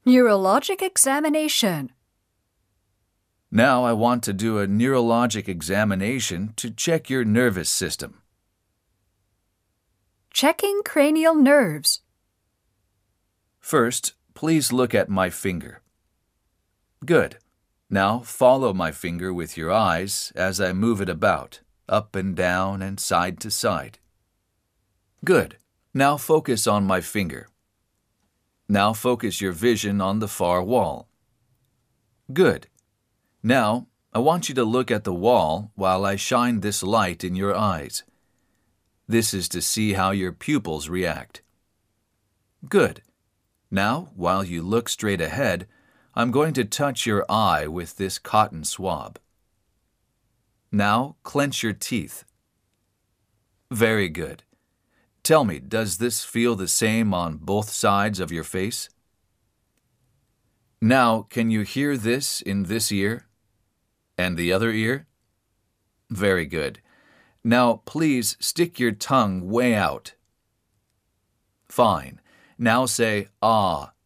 Neurologic examination. Now I want to do a neurologic examination to check your nervous system. Checking cranial nerves. First, please look at my finger. Good. Now follow my finger with your eyes as I move it about, up and down and side to side. Good. Now focus on my finger. Now focus your vision on the far wall. Good. Now, I want you to look at the wall while I shine this light in your eyes. This is to see how your pupils react. Good. Now, while you look straight ahead, I'm going to touch your eye with this cotton swab. Now, clench your teeth. Very good. Tell me, does this feel the same on both sides of your face? Now, can you hear this in this ear? And the other ear? Very good. Now, please stick your tongue way out. Fine. Now say, ah,